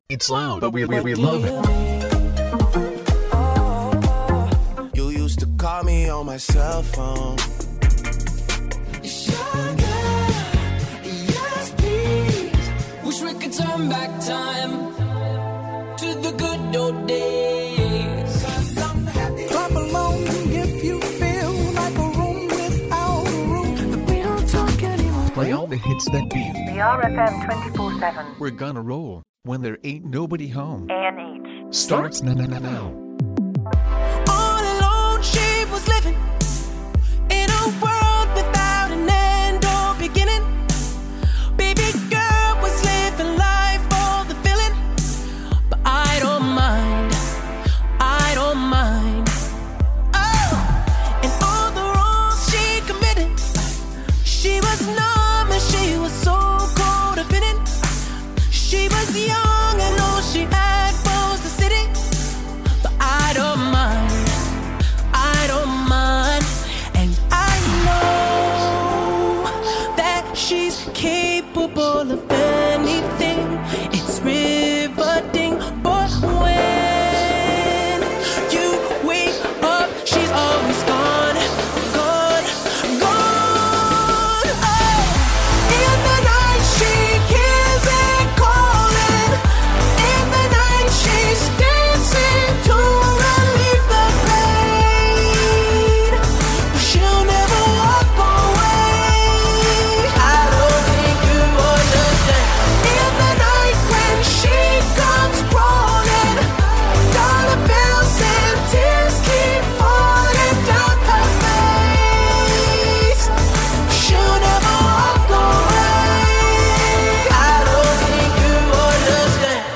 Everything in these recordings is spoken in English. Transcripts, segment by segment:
It's loud, but we love it. You used to call me on my cell phone. Sugar, yes please. Wish we could turn back time to the good old days. Clap along if you feel like a room without a roof. We don't talk anymore. Play all the hits that beat. The RFM 24/7. We're gonna roll when there ain't nobody home. ANH. Starts now. All alone she was living in a world without an end or beginning. Baby girl was living life for the feeling. But I don't mind, I don't mind. Oh, and all the wrongs she committed, she was numb and she was so codependent. She was young and all she had was the city. But I don't mind, I don't mind. And I know that she's capable of anything. It's riveting. But when you wake up, she's always gone, gone, gone. Oh, in the night she hears it calling. In the night she's dancing to relieve the pain. She'll never walk away. I don't think you understand. In the night when she comes crawling, dollar bills and tears keep falling down her face. She'll never walk away. I don't think you understand.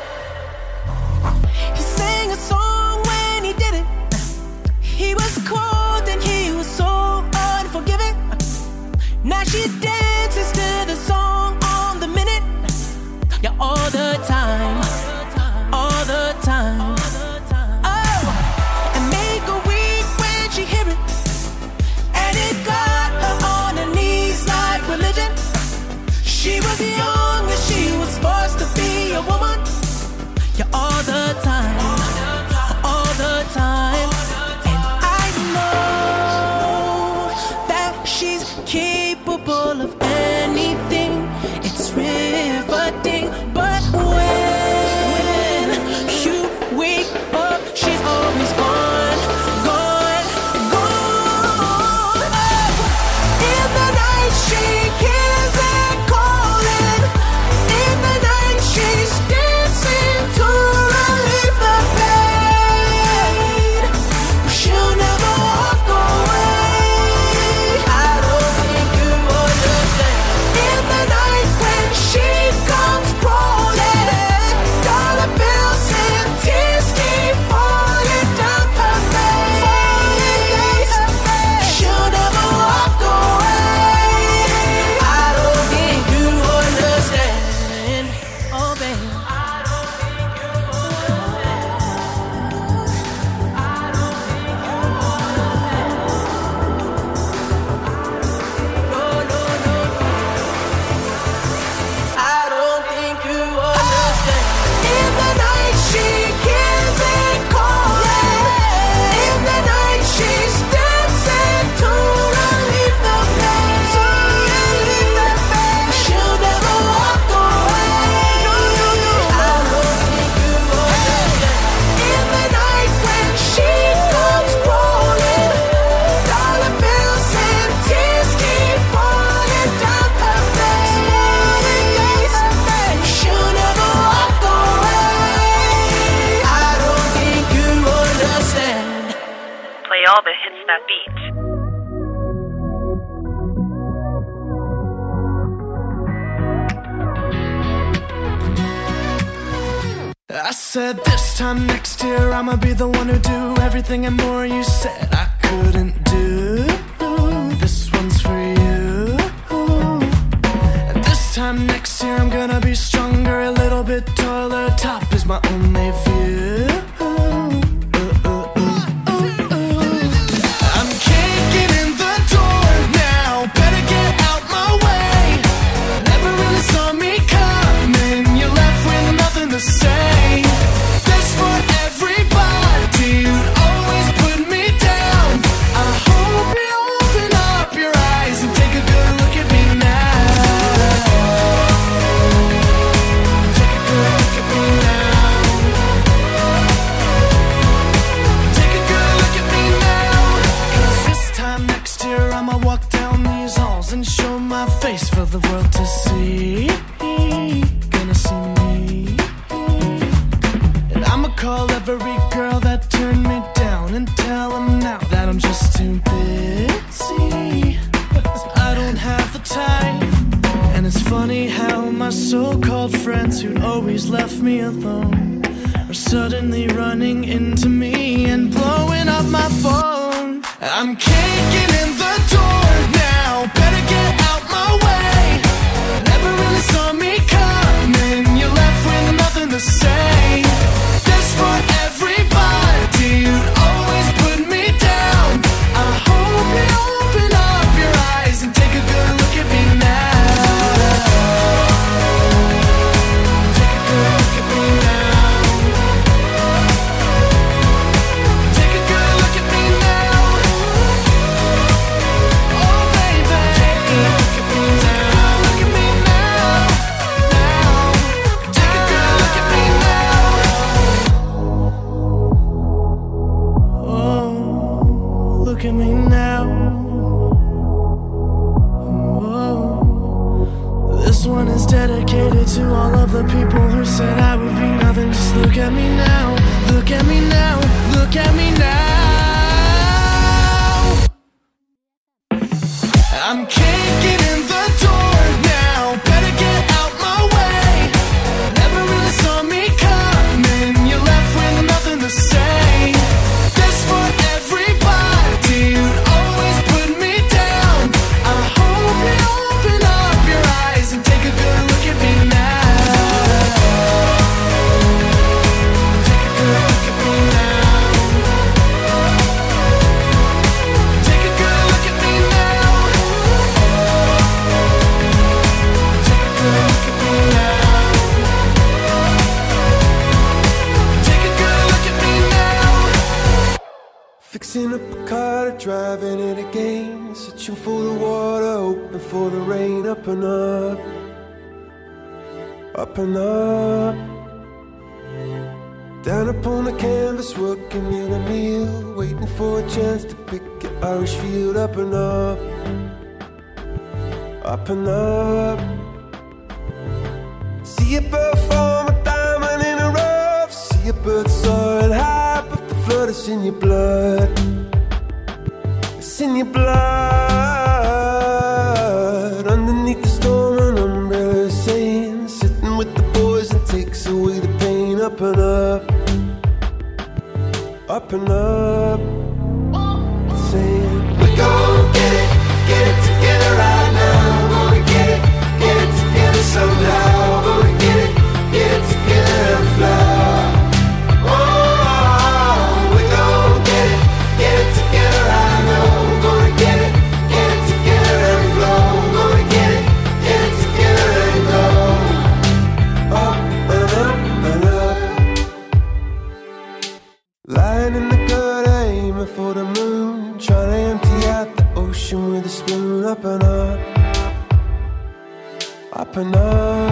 He sang a song when he did it. He was cold and he was so unforgiving. Now she dances to the song on the minute. Yeah, all the time, all the time. Oh, and make her weak when she hear it. And it got her on her knees like religion. She was young and she was forced to be a woman. Yeah, all the time, all the time. And I know that she's capable of anything. It's riveting. But when you wake up, she's always gone, gone, gone. Oh, in the night she hears it calling. In the night she's dancing to relieve the pain. She'll never walk away. I don't think you understand. In the night when she comes crawling, dollar bills and tears keep falling down her face. She'll never walk away. I don't think you understand. Oh, baby. No, no, no. I don't think you understand. In the night she hears it calling. In the night she's dancing to relieve the pain. To relieve the pain. She'll never walk away. No, no, no. I don't think you understand. In the night when she comes rolling, dollar bills and tears keep falling down her face. She'll never walk away. I don't think you understand. Play all the hits that beat. I said this time next year I'ma be the one who do everything and more you said I couldn't do. This one's for you. And this time next year I'm gonna be stronger, a little bit taller. Top is my only view. I'm kicking in the door now. Better get out my way. Never really saw me coming. You're left with nothing to say. left me alone are suddenly running into me and blowing up my phone. I'm kicking in the door now, better get out my way. Never really saw me coming, you're left with nothing to say. This for everybody, you'd always put me down. I hope you open up your eyes and take a good look at me now. Take a good look at me now. Take a good look at me now. Oh baby, take a good look at me now. Look at me now, now. Take a good look at me now. Oh, look at me now. Whoa. This one is dedicated to all of the people who said I would be nothing. Just look at me now, look at me now, look at me now. I'm kicking in the door now, better get out my way. Never really saw me coming, you're left with nothing to say. This for everybody, you'd always put me down. I hope you open up your eyes and take a good look at me now. Take a good look at me now. Take a good look at me now. Take a good look at me now. Take a good look at me now. Fixing up a car, driving it again. Searching for the water, hoping for the rain. Up and up, up and up. Down upon the canvas, working in a meal. Waiting for a chance to pick an Irish field. Up and up, up and up. See a bird form a diamond in a rough. See a bird soaring high, but the flood is in your blood. It's in your blood. Underneath the storm, an umbrella is saying, sitting with the boys and takes away the pain. Up and up, up and up. Saying, we gon' get it together right now. Gonna get it together somehow. Gonna get it together and fly. Oh, we gon' get it together right now. Gonna get it together and flow. Gonna get it together and go. Up and up and up. Lying in the gutter, aiming for the moon. Trying to empty out the ocean with a spoon. Up and up, up and up.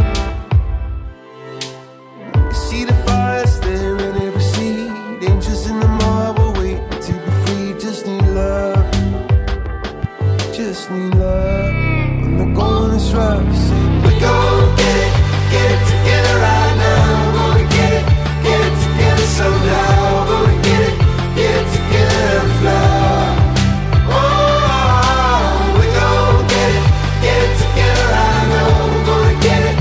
You see the fire staring every seed. Angels in the marble waiting to be free. Just need love, just need love. When the going is rough, say we gon' get it together right now. Gonna get it together somehow. Gonna get it together and fly. Oh, we gon' get it together right now. Gonna get it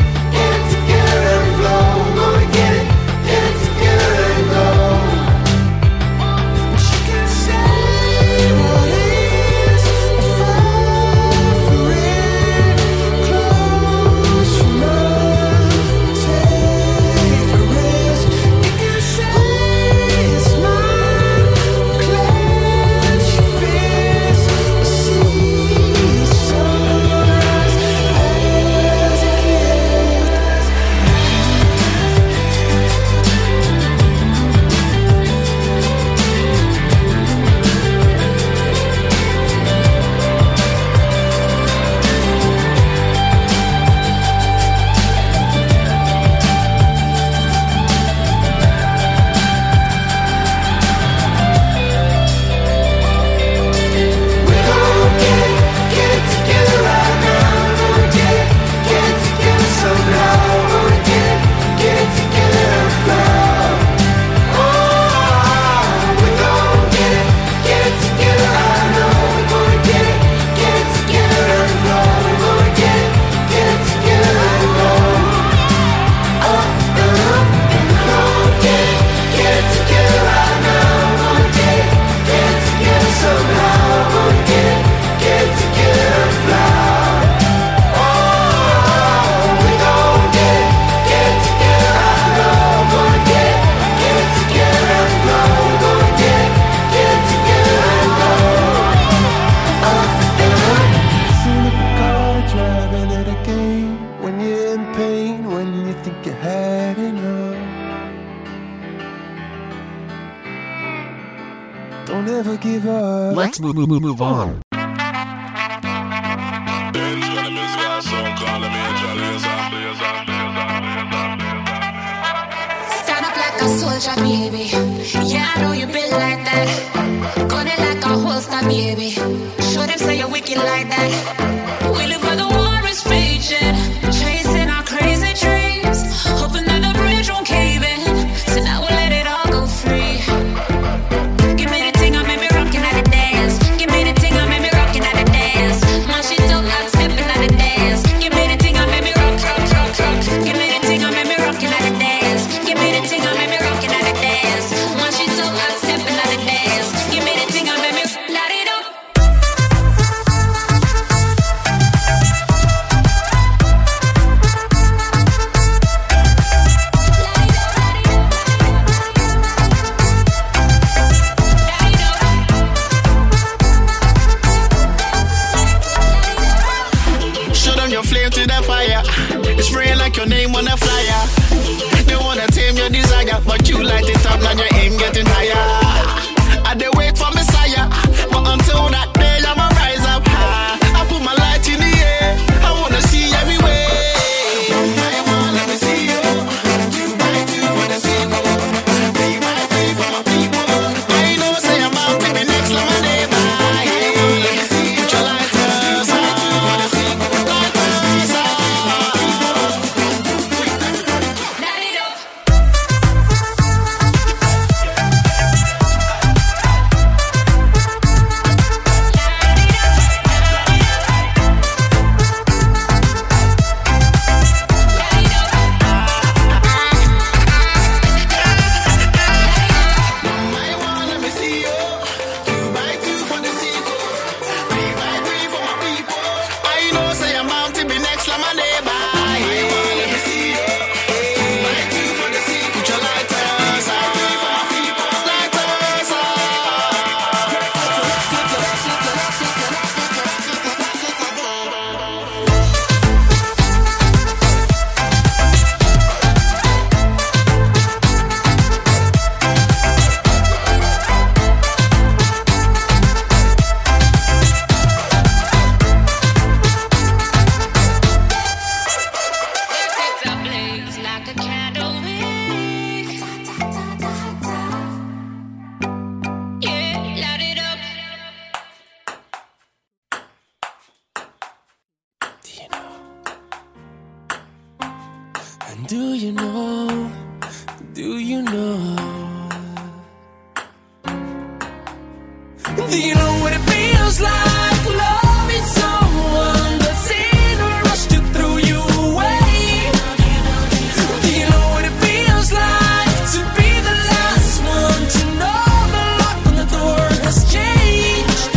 Don't ever give up. Let's move on. Stand up like a soldier, baby. Yeah, I know you built like that. Gun it like a holster, baby. Show them say you're wicked like that. We live where the war is raging, chasing our crazy dreams, hoping that the bridge won't cave in. So now we'll let it all go free. Give me the thing, I made me rockin' at the dance. Give me the thing, I made me rockin' at the dance. My shit don't like stepping at the dance. Give me the thing, I made me rock, rock, rock, rock. Give me the thing, I made me rockin' at the dance. Give me the thing, I made me rockin' at the dance. My shit don't like stepping at the dance. Give me the thing, I made me light it up. Show them your flame to the fire. It's spraying like your name on a flyer. They wanna tame your desire, but you light it up, now you ain't getting higher. I they wait for Messiah, but until that day I'ma rise up high. I put my light in the air, I wanna see everywhere. Let me see you. 2x2 for the sequel. 3x3 for my people. I know say I'm out to be next like my neighbor. Put your lighters on. Light it up. Let me see you. 2x2 for the sequel. 3x3 for my people. I know say I'm bound to be next like my neighbor. Let me see you. 2x2 for the sequel. Put your lighters on. Lighters on. It's a blaze like a candle wick. Yeah, light it up. And do you know? Do you know? Do you know what it feels like? Loving someone that's in a rush to throw you away. Do you know what it feels like to be the last one to know the lock on the door has changed?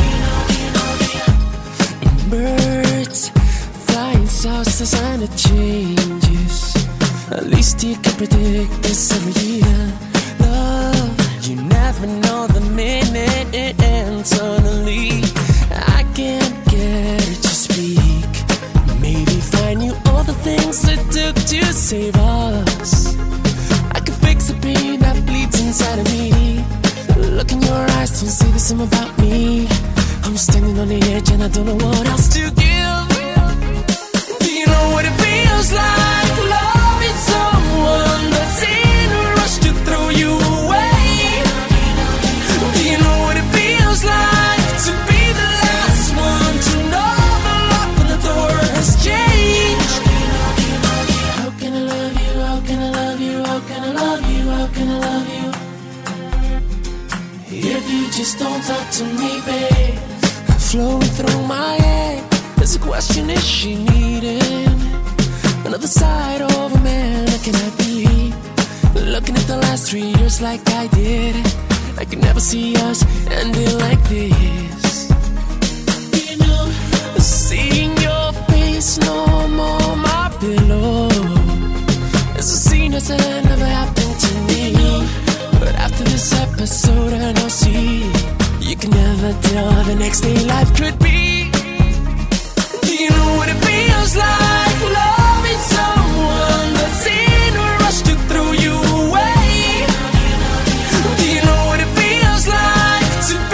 Birds flying saucers and it changes. At least you can predict this every year. Love, you never know the minute it ends. Suddenly, I can't get it to speak. Maybe find you all the things it took to save us. I can fix the pain that bleeds inside of me. Look in your eyes, don't say the same about me. I'm standing on the edge and I don't know what else to give. Do you know what it feels like? Loving someone that's in a rush to throw you away. Do you know what it feels like to be the last one to know the lock on the door has changed? How can I love you? How can I love you? How can I love you? How can I love you? If you just don't talk to me, babe. Flowing through my head, there's a question: is she needing another side of a man? Can I be looking at the last 3 years like I did? I could never see us ending like this. You know, seeing your face no more my pillow. It's a scene that's never happened to me. But after this episode, I know, see, you can never tell how the next day life could be. Do you know what it feels like? Loving someone that's in a rush to throw you away. Do you know what it feels like to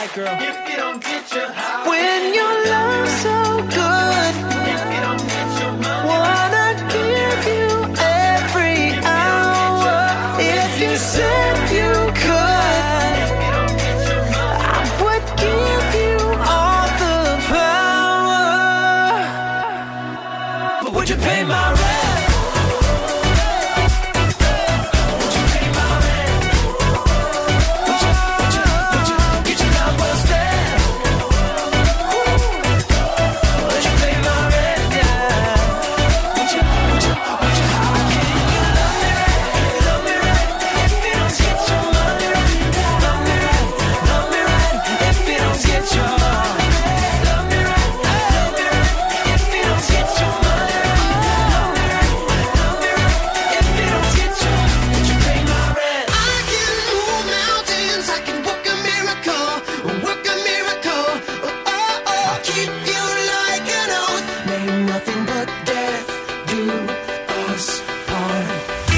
right, girl. If you don't get your house, When your love's so good, if you don't get your money, wanna give you every hour. If you said you could, I would give you all the power. But would you pay my rent? Would you pay my rent? Would you get your love well spent? Would you pay my rent? Yeah. Would you? How can you love me right if you don't get your money right? Love me right if you don't get your love me right if you don't get your money right. Love me right if you don't get your. Would you pay my rent? I can move mountains, I can work a miracle, work a miracle. I'll keep you like an oath. May nothing but death do us part.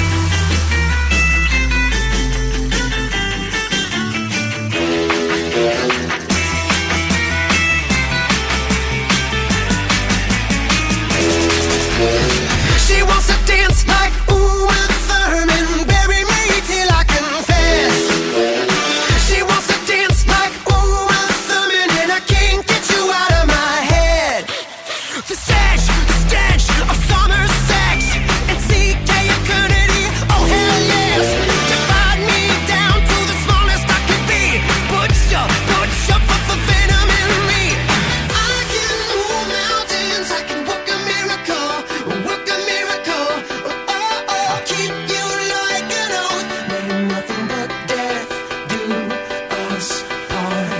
She wants to dance like Uma Thurman, bury me till I confess. She wants to dance like Uma Thurman, and I can't get you out of my head. The stench of summer sex and CK eternity. Oh hell yes, divide me down to the smallest I can be. Put your venom in me. I can move mountains, I can work a miracle, work a miracle. I'll keep you like an oath. May nothing but death do us part.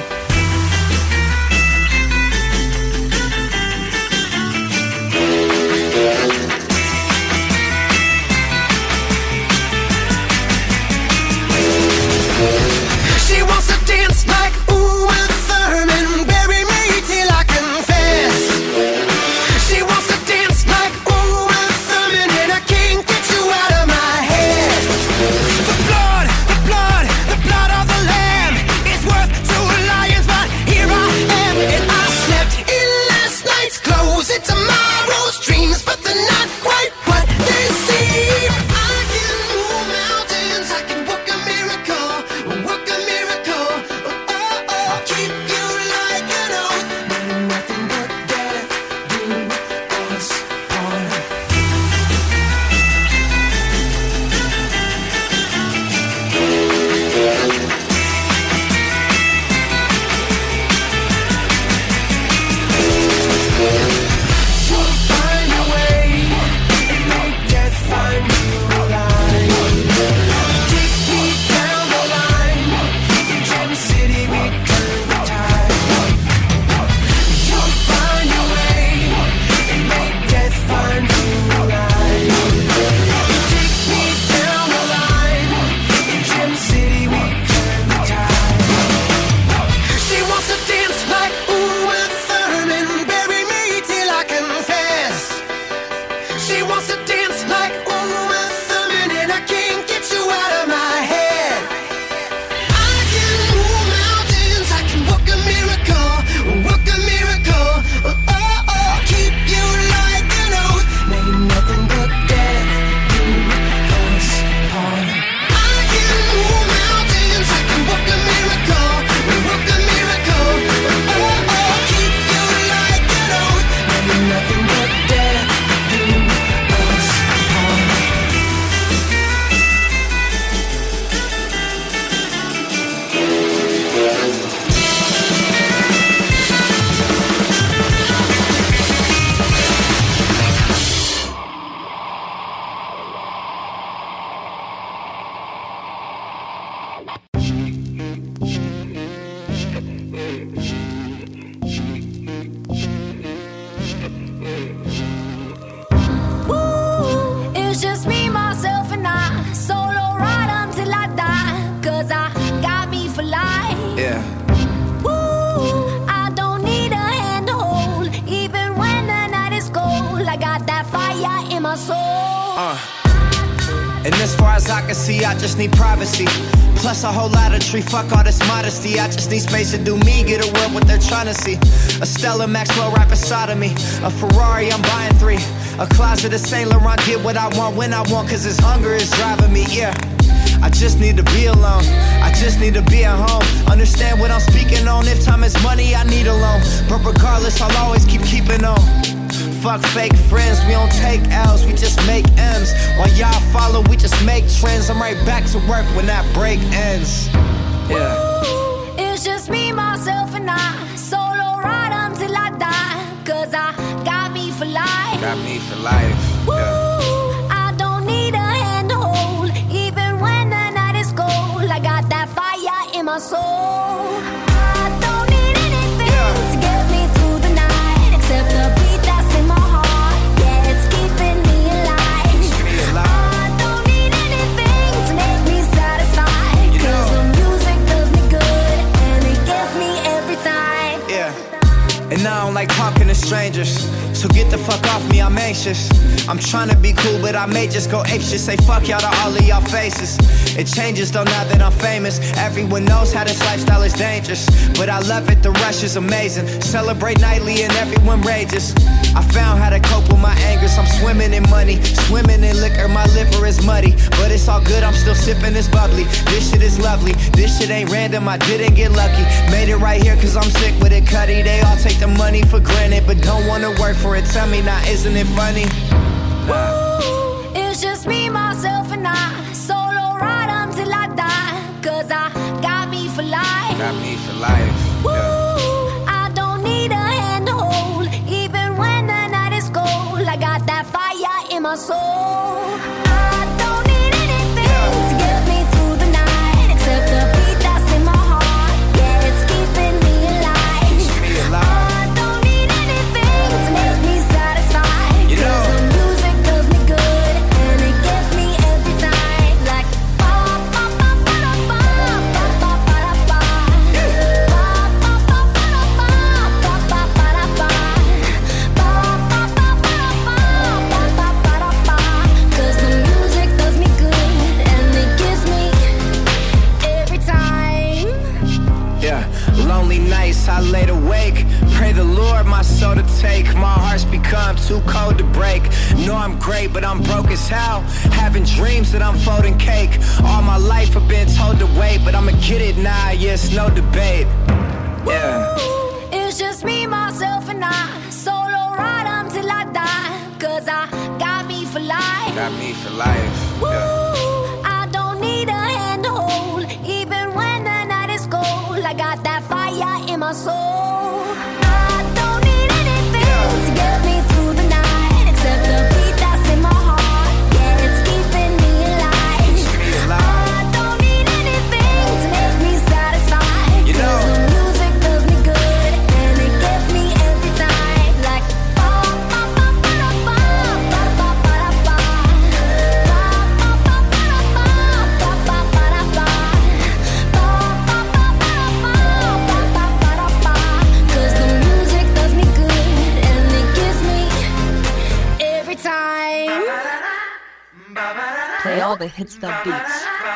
She wants to dance like Uma Thurman, bury me till I confess. She wants to dance like Uma Thurman, and I can't get you out of my head. The blood of the lamb is worth 2 lions, but here I am, and I slept in last night's clothes. It's tomorrow's dreams, but they're not quite what they seem. I can move mountains, I can work a miracle, work a miracle. I'll keep you like an oath. May nothing but death do us part. You'll find a way and make death find you alive. Take me down the line. In Gem City we turn the tide. You'll find a way and make death find you alive. Take me down the line. In Gem City we turn the tide. She wants to dance like Uma Thurman, bury me till I confess. She wants to dance like Uma Thurman, and I can't get you out of my head. I can move mountains, I can work a miracle, work a miracle. I'll keep you like an oath. May nothing but death do us part. I can move mountains, I can work a miracle, work a miracle. I'll keep you like an oath. May nothing but death do us part. Woo, it's just me, myself, and I. Solo ride until I die. 'Cause I got me for life. Yeah. Woo, I don't need a hand to hold. Even when the night is cold, I got that fire in my soul. And as far as I can see, I just need privacy. Plus a whole lot of tree, fuck all this modesty. I just need space to do me, get away what they're trying to see. A Stella Maxwell right beside of me. A Ferrari, I'm buying 3. A closet of Saint Laurent, get what I want when I want, cause this hunger is driving me, yeah. I just need to be alone, I just need to be at home. Understand what I'm speaking on, if time is money, I need a loan. But regardless, I'll always keeping on. Fuck fake friends, we don't take L's, we just make M's. While y'all follow, we just make trends. I'm right back to work when that break ends. Yeah. Ooh, it's just me, myself, and I. Solo ride until I die. Cause I got me for life. Got me for life. Ooh, Yeah. I don't need a hand to hold. Even when the night is cold, I got that fire in my soul. I don't need anything to get me through the night, except the beat that's in my heart. Yeah, it's keeping me alive. I don't need anything to make me satisfied, cause the music does me good and it gets me every time. Yeah. And I don't like talking to strangers, so get the fuck off me, I'm anxious. I'm trying to be cool, but I may just go apeshit. Say fuck y'all to all of y'all faces. It changes though now that I'm famous. Everyone knows how this lifestyle is dangerous, but I love it, the rush is amazing. Celebrate nightly and everyone rages. I found how to cope with my angers. I'm swimming in money, swimming in liquor. My liver is muddy, but it's all good, I'm still sipping this bubbly. This shit is lovely, this shit ain't random, I didn't get lucky. Made it right here cause I'm sick with it, Cuddy. They all take the money for granted, but don't wanna work for it. Tell me now, isn't it funny? Ooh, it's just me, myself, and I. Solo ride until I die. Cause I got me for life. Got me for life. Ooh, Yeah. I don't need a hand to hold. Even when the night is cold, I got that fire in my soul. I don't need anything to get me through the night, except the beat that's in my heart. Yeah, it's keeping me alive. I don't need anything to make me satisfied, You know. cause the music does me good and it gets me every time. Like ba ba ba ba da ba ba ba ba da ba. Ba ba ba ba da ba ba ba ba da ba. Ba ba ba ba da ba ba ba ba da ba. Cause the music does me good and it gives me every time. Yeah, lonely nights I laid awake. Pray the Lord my soul to take. My heart's become too cold to break. Know I'm great, but I'm broke as hell. Having dreams that I'm folding cake. All my life I've been told to wait, but I'ma get it now, yes, no debate. Yeah. Ooh, it's just me, myself, and I. Solo ride until I die. Cause I got me for life. Got me for life. Yeah. Ooh, I don't need a hand to hold. Even when the night is cold, I got that fire in my soul. I don't need anything to get me through the night, except the beat that's in my heart. Yeah, it's keeping me alive. I don't need anything to make me satisfied, You know. cause the music does me good and it gets me every time. Like ba ba ba ba da ba ba ba ba da ba. Ba ba ba ba da ba ba ba ba da ba. Ba ba ba ba da ba ba ba ba da ba. Cause the music does me good and it gives me every time. Play all the hits, the beats.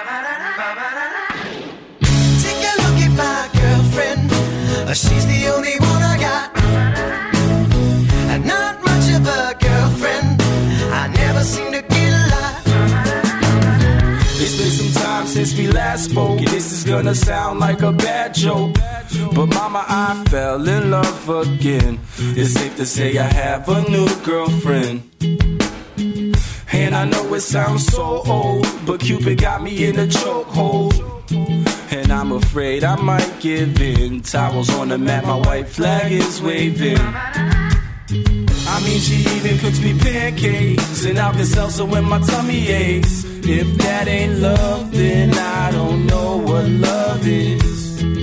Take a look at my girlfriend. She's the only one I got. And not much of a girlfriend. I never seem to get a lot. It's been some time since we last spoke, and this is gonna sound like a bad joke. But mama, I fell in love again. It's safe to say I have a new girlfriend. And I know it sounds so old, but Cupid got me in a chokehold. And I'm afraid I might give in. Towels on the mat, my white flag is waving. I mean, she even cooks me pancakes and Alka-Seltzer when my tummy aches. If that ain't love, then I don't know what love is.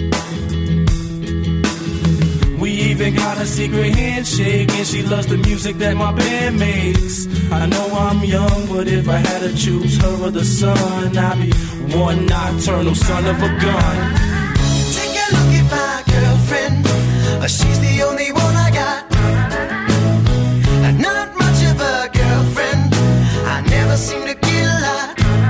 We even got a secret handshake, and she loves the music that my band makes. I know I'm young, but if I had to choose her or the sun, I'd be one nocturnal son of a gun. Take a look at my girlfriend. She's the only one I got. And not much of a girlfriend. I never seem to get a lot.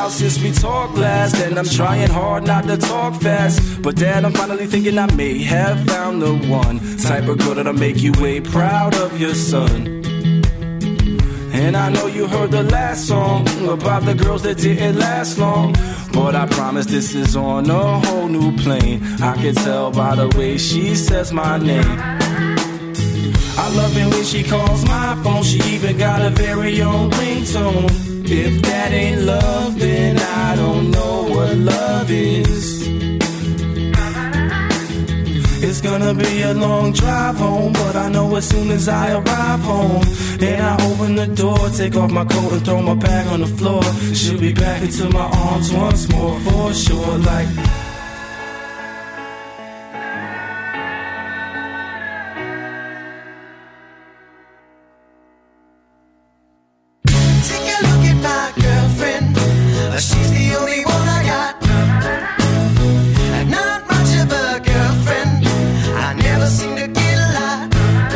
while since we talked last, and I'm trying hard not to talk fast. But Dad, I'm finally thinking I may have found the one type of girl that'll make you way proud of your son. And I know you heard the last song about the girls that didn't last long, but I promise this is on a whole new plane. I can tell by the way she says my name. I love it when she calls my phone. She even got a very own ringtone. If that ain't love, then I don't know what love is. It's gonna be a long drive home, but I know as soon as I arrive home and I open the door, take off my coat and throw my bag on the floor, she'll be back into my arms once more for sure. Like take a look at my girlfriend. She's the only one I got. And not much of a girlfriend. I never seem to get a lot.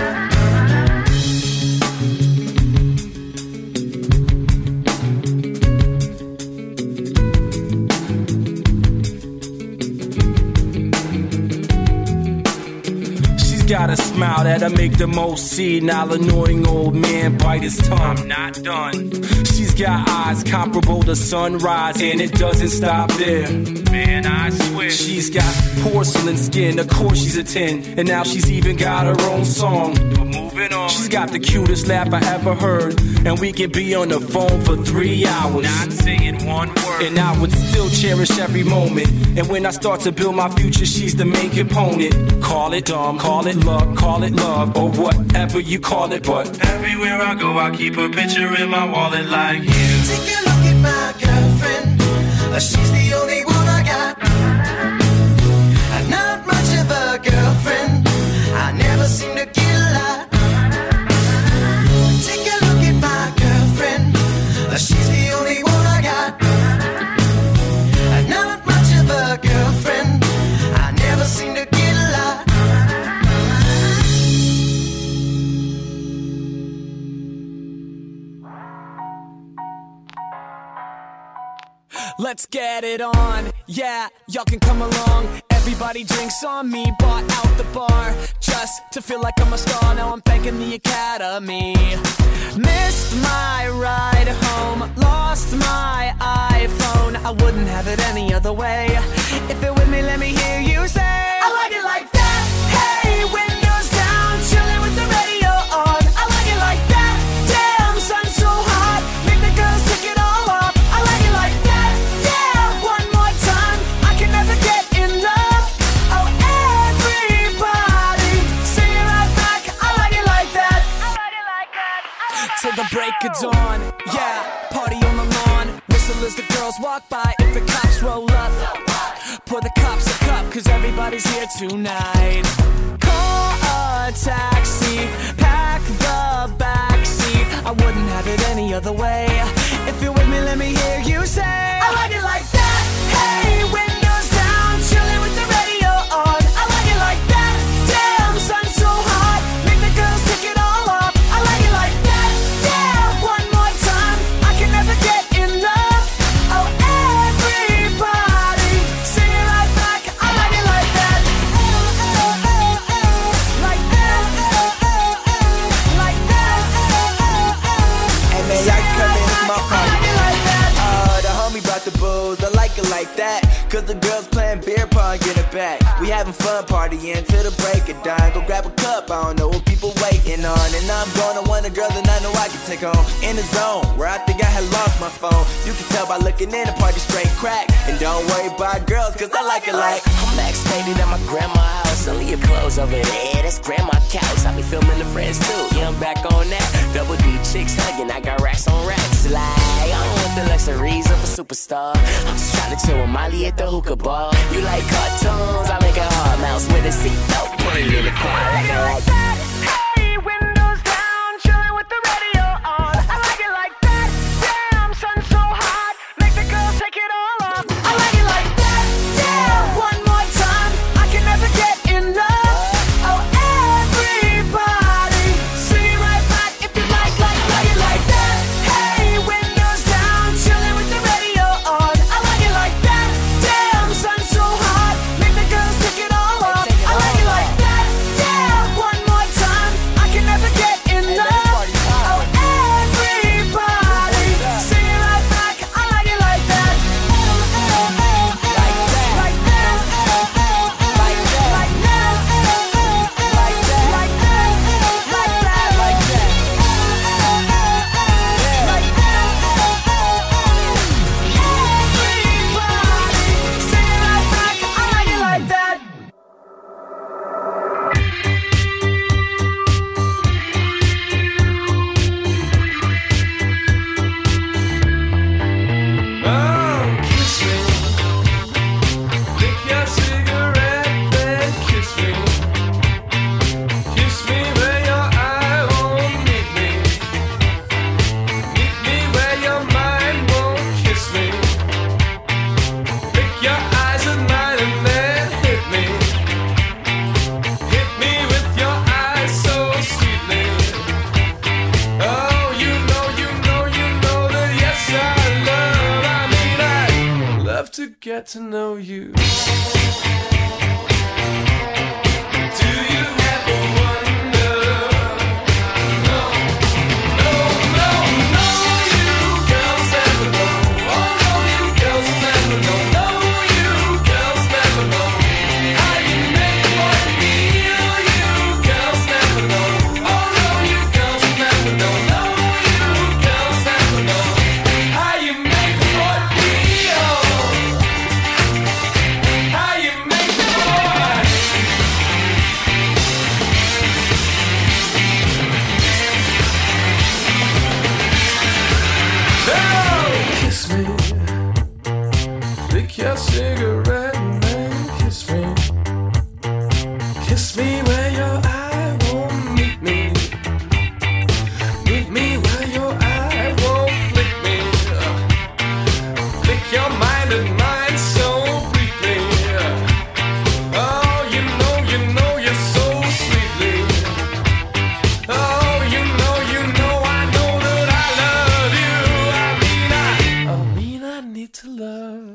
she's got a smile that'll make the most senile annoying old man bite his tongue. I'm not done. She's got eyes comparable to sunrise, and it doesn't stop there. Man, I swear. She's got porcelain skin, of course she's a 10, and now she's even got her own song. But moving on. She's got the cutest laugh I ever heard, and we can be on the phone for 3 hours. Not saying one word. And I would still cherish every moment. And when I start to build my future, she's the main component. Call it dumb, call it luck, call it love, or whatever you call it. But everywhere I go, I keep a picture in my wallet like you. Take a look at my girlfriend. She's the only one I got. Not much of a girlfriend. I never seem to get a lot. Take a look at my girlfriend. She's the only one I got. Not much of a girlfriend. I never seem to get a lot. Let's get it on, yeah, y'all can come along. Everybody drinks on me, bought out the bar just to feel like I'm a star. Now I'm thanking the Academy. Missed my ride home, lost my iPhone. I wouldn't have it any other way. If you're with me, let me hear you say, I like it like that. Hey, windows down, chilling with the radio on. I like it like that. Damn, sun's so hot, make the girls take it all off. I like it like that. Yeah, one more time, I can never get enough. Oh, everybody, sing it right back. I like it like that. I like it like that. Till the break of dawn, yeah, party on the lawn. Whistle as the girls walk by. If the cops roll up, pour the cops a cup, cause everybody's here tonight. Call a taxi, pack the backseat. I wouldn't have it any other way. If you're with me, let me hear you say, I like it like that. Hey, windows down, chilling with the radio on. I like it like that. Damn, sun's so hot, make the girls take it all off. I like it like that. Yeah, one more time, I can never get enough. Oh, everybody, sing it right back. I like it like that. Like that. Like that. Hey man, y'all come in, it's my I party. like it like that. The homie brought the booze, I like it like that. Cause the girls playing beer pong, get it back. We having fun partying till the break of dawn. Go grab a cup, I don't know what people waiting on. And I'm gonna want a girl that I know I can take home. In the zone, where I think I had lost my phone. You can tell by looking in, the party straight crack. And don't worry about girls, cause I like it like I'm backstage at my grandma's house. Only your clothes over there, that's grandma couch. I be filming the friends too, yeah, I'm back on that. Double D chicks hugging, I got racks on racks. Like, I don't want the luxuries of a superstar. I'm just trying to chill with Molly at the hookah bar. You like cartoons, I make a hard mouse with a seatbelt. Put it in the car, I like it like that. Hey, windows down, chilling with the radio on. I like it like that. Damn, sun's so hot, make the girls take it all off. I like it like that. Yeah, one more time, I can never get enough. Oh, everybody, sing it right back if you like it like that. Hey, windows down, chilling with the radio on. to get to know you. Your cigarette and then kiss me. Kiss me where your eye won't meet me. Meet me where your eye won't flick me. Flick your mind and mine so briefly. Oh, you know you're so sweetly. Oh, you know I know that I love you. I mean I need to love.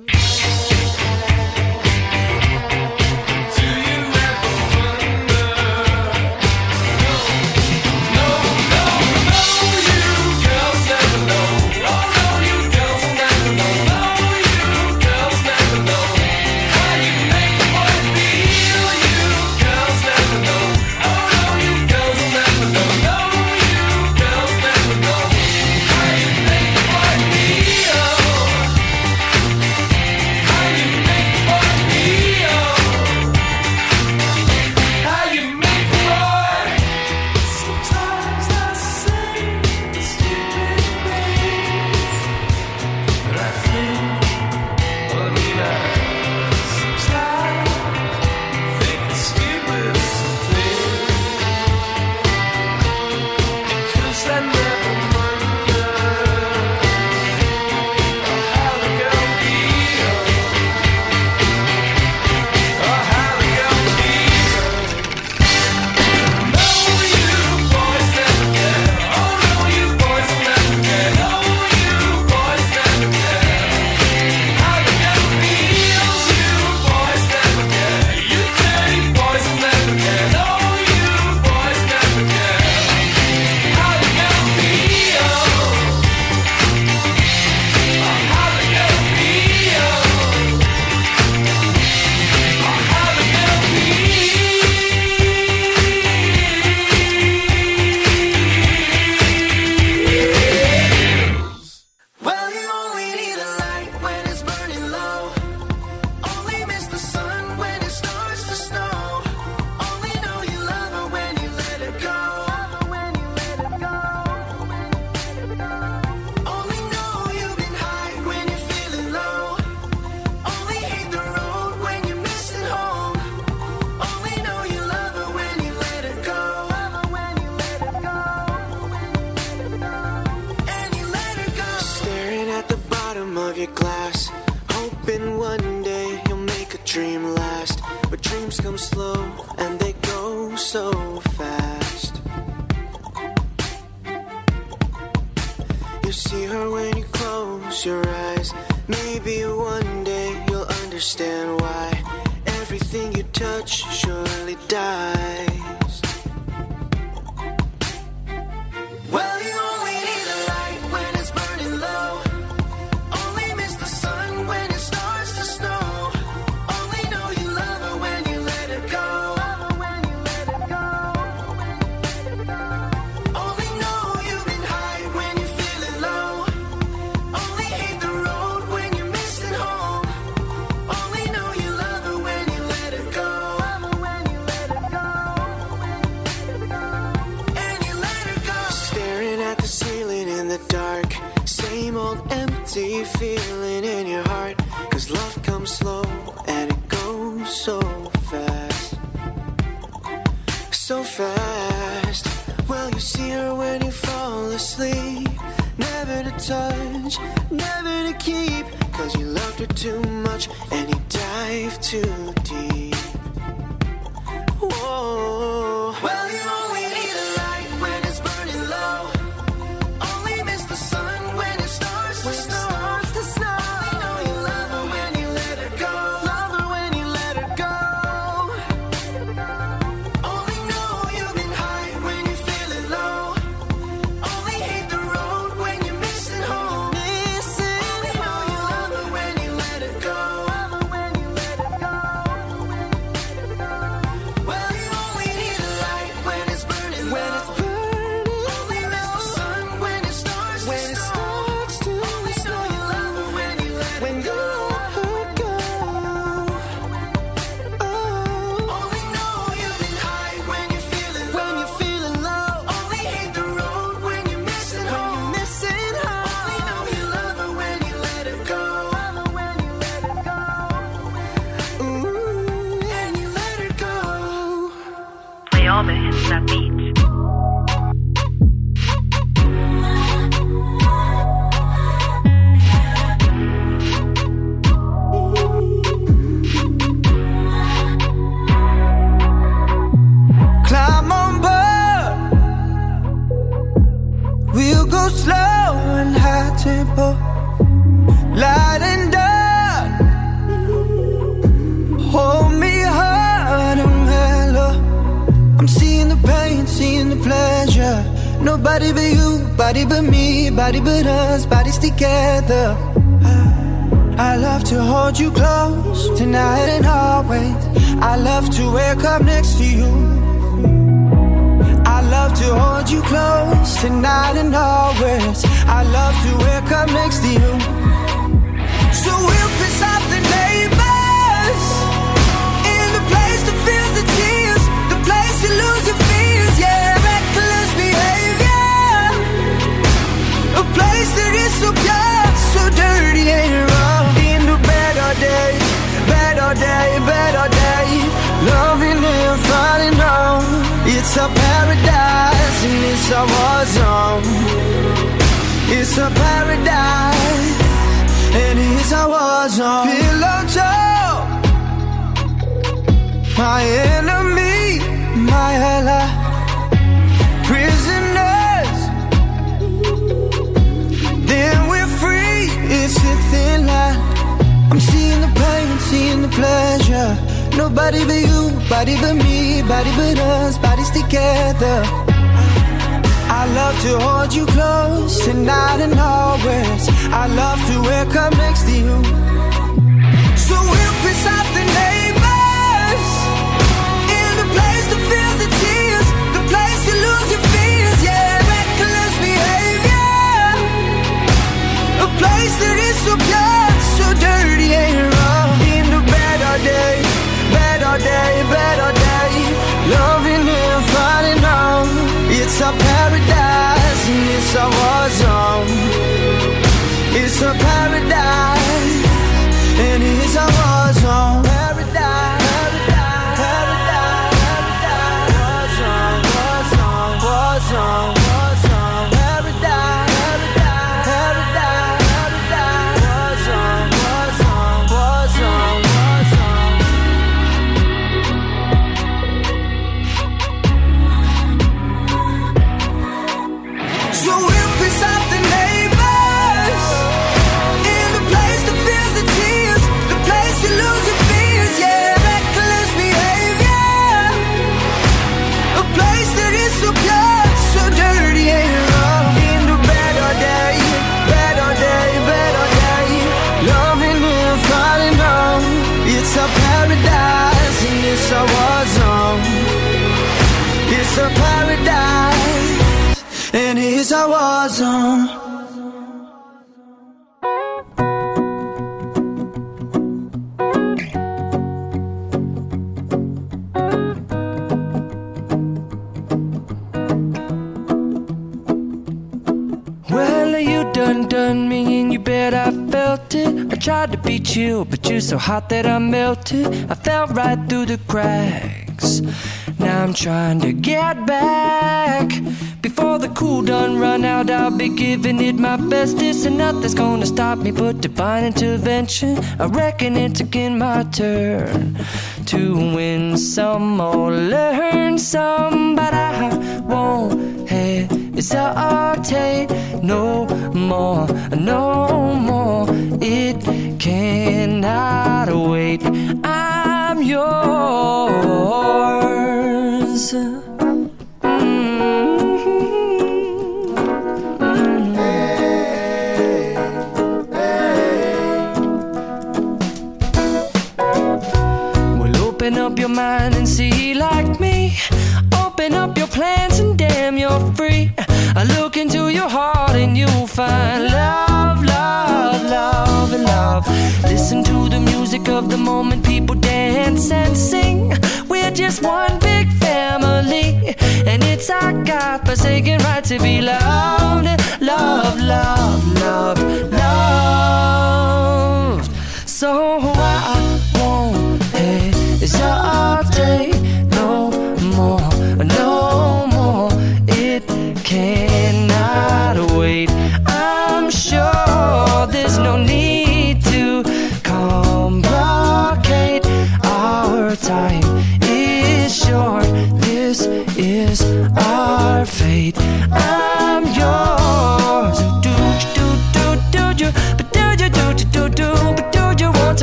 Your glass, hoping one day you'll make a dream last. But dreams come slow and they go so fast. You see her when you close your eyes. Maybe one day you'll understand why everything you touch surely dies. Well, you only need a light when it's burning low. Empty feeling in your heart, 'cause love comes slow and it goes so fast. So fast. Well, you see her when you fall asleep. Never to touch, never to keep, 'cause you loved her too much and you dive too deep. Whoa. Well, you only need a light when it's burning low. Only miss the sun when it starts to snow. You know you love her when you hits that beat. Climb on board. We'll go slow and high tempo, light and dark. Hold me hard and mellow. I'm seeing the pain, seeing the pleasure. Nobody but you, body but me, body but us, bodies together. I love to hold you close, tonight and always. I love to wake up next to you. I love to hold you close, tonight and always. I love to wake up next to you. So we'll piss off the neighbors, in the place that feels the tears, the place you lose your fears, yeah, reckless behavior. A place that is so pure, so dirty and wrong. In the better day, better day, better day, loving and falling on. It's a paradise and it's a war zone. It's a paradise and it's a war zone. Pillow talk, my enemy, my ally. Prisoners, then we're free. It's a thin line. I'm seeing the pain, seeing the pleasure. Nobody but you, body but me, body but us, bodies together. I love to hold you close, tonight and always. I love to wake up next to you. So we'll piss off the neighbors, in the place that feels the tears, the place you lose your fears, yeah, reckless behavior. A place that is so pure, so dirty and wrong. In the better day, better day, better day, loving and falling on. It's a paradise and it's a war zone. It's a paradise and it's a war zone. Paradise, paradise, paradise, war zone, war zone, war zone, war zone. Paradise, paradise, paradise, war zone, war zone, war zone, war zone. So we'll piss off the neighbors, in the place that feels the tears, the place you lose your fears, yeah, reckless behavior. A place that is so pure, so dirty and wrong. In the better day, better day, better day, loving and falling on. It's a paradise and it's a war zone. It's a paradise and it's a war zone. Well, you done me and you bet I felt it. I tried to be chill, but you're so hot that I melted. I fell right through the cracks. Now I'm trying to get back. Before the cool done run out, I'll be giving it my bestest, and nothing's gonna stop me but divine intervention. I reckon it's again my turn to win some or learn some, but I won't hesitate no more, no more. It cannot wait. I'm yours. Open up your mind and see like me. Open up your plans and damn, you're free. I look into your heart and you'll find love, love, love, and love. Listen to the music of the moment, people dance and sing. We're just one big family, and it's our God-forsaken right to be loved. Love, love, love, loved. So I won't hesitate no more, no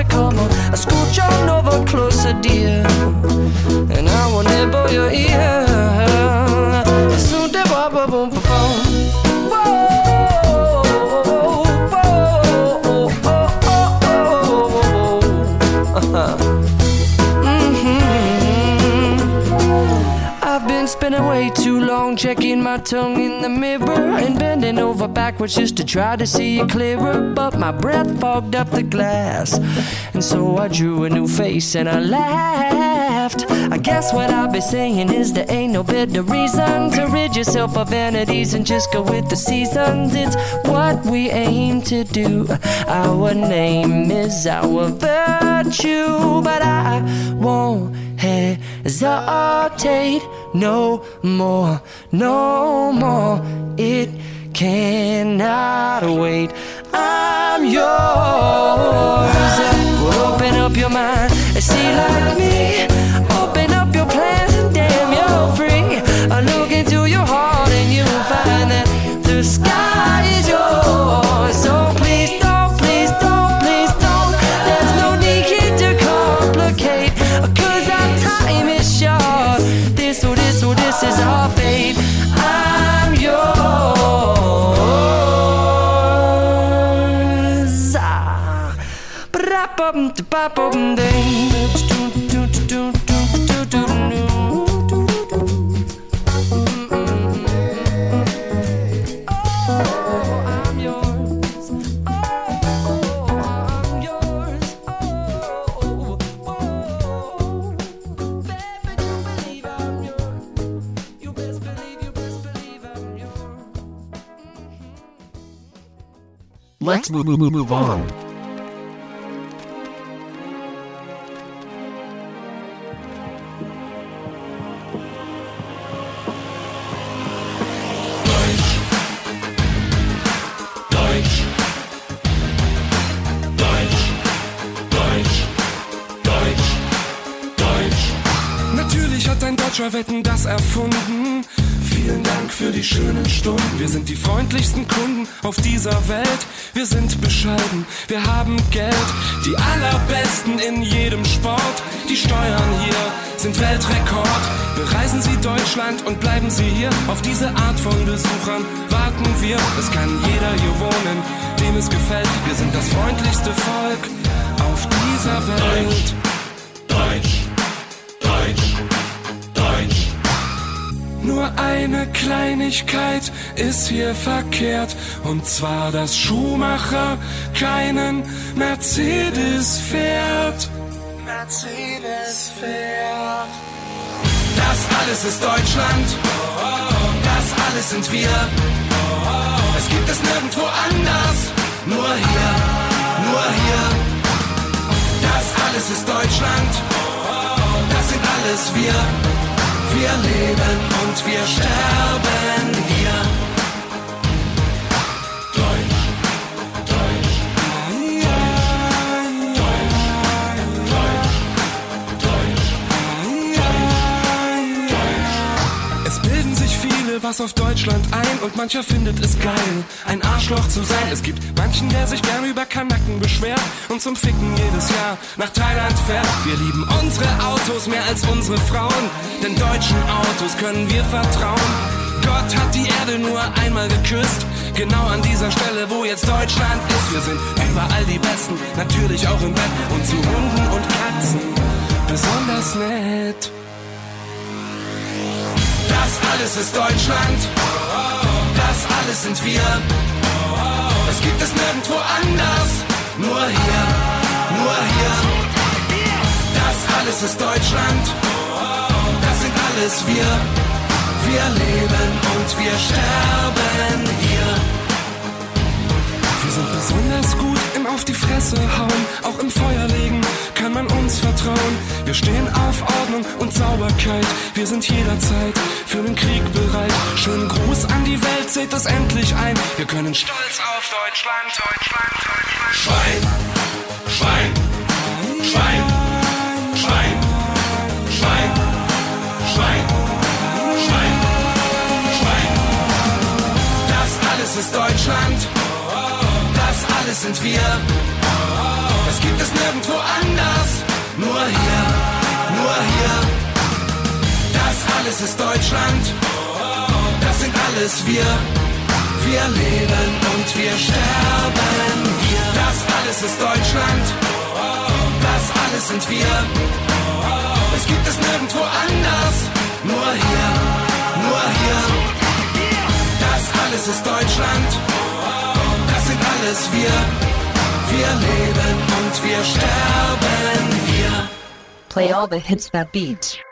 come on, scooch on over closer, dear, and I will nibble your ear. So de ba ba boom ba boom. I've been spending way too long checking my tongue in the mirror and bending over backwards just to try to see it clearer, but my breath fogged up the glass, and so I drew a new face and I laughed. I guess what I'll be saying is there ain't no better reason to rid yourself of vanities and just go with the seasons. It's what we aim to do. Our name is our virtue, but I won't hesitate no more, no more. It cannot wait. I'm yours. Well, open up your mind and see like me. Open up your plans and damn, you're free. I look into your heart and you'll find that the sky is yours. So please don't, please don't, please don't. There's no need here to complicate, 'cause our time is short. This is our fate. I'm yours. Let's move on. Natürlich hat ein Deutscher Wetten das erfunden. Vielen Dank für die schönen Stunden. Wir sind die freundlichsten Kunden auf dieser Welt. Wir sind bescheiden, wir haben Geld. Die allerbesten in jedem Sport. Die Steuern hier sind Weltrekord. Bereisen Sie Deutschland und bleiben Sie hier. Auf diese Art von Besuchern warten wir. Es kann jeder hier wohnen, dem es gefällt. Wir sind das freundlichste Volk auf dieser Welt. Deutsch, Deutsch, Deutsch. Nur eine Kleinigkeit ist hier verkehrt, und zwar, dass Schumacher keinen Mercedes fährt. Mercedes fährt. Das alles ist Deutschland, das alles sind wir. Es gibt es nirgendwo anders, nur hier, nur hier. Das alles ist Deutschland, das sind alles wir. Wir leben und wir sterben hier. Deutsch, Deutsch, Deutsch. Es bilden sich viele was auf Deutschland ein und mancher findet es geil, ein Arschloch zu sein. Es gibt manchen, der sich gern über Kanaken beschwert und zum Ficken jedes Jahr nach Thailand fährt. Wir lieben unsere Autos mehr als unsere Frauen, denn deutschen Autos können wir vertrauen. Gott hat die Erde nur einmal geküsst, genau an dieser Stelle, wo jetzt Deutschland ist. Wir sind überall die Besten, natürlich auch im Bett und zu Hunden und Katzen besonders nett. Das alles ist Deutschland, das alles sind wir. Es gibt es nirgendwo anders, nur hier, nur hier. Das alles ist Deutschland, das sind alles wir. Wir leben und wir sterben hier. Wir sind besonders gut im Auf die Fresse hauen, auch im Feuer legen kann man uns vertrauen. Wir stehen auf Ordnung und Sauberkeit, wir sind jederzeit für den Krieg bereit. Schönen Gruß an die Welt, seht es endlich ein, wir können stolz auf Deutschland, Deutschland, Deutschland. Schwein, Schwein, Schwein, Schwein, Schwein, Schwein, Schwein, Schwein. Das alles ist Deutschland, das alles sind wir. Es Das gibt es nirgendwo anders. Nur hier, nur hier. Das alles ist Deutschland. Das sind alles wir. Wir leben und wir sterben hier. Das alles ist Deutschland. Das alles sind wir. Es gibt es nirgendwo anders. Nur hier, nur hier. Das alles ist Deutschland. Das sind alles wir. Wir leben und wir sterben hier. Play all the hits that beat.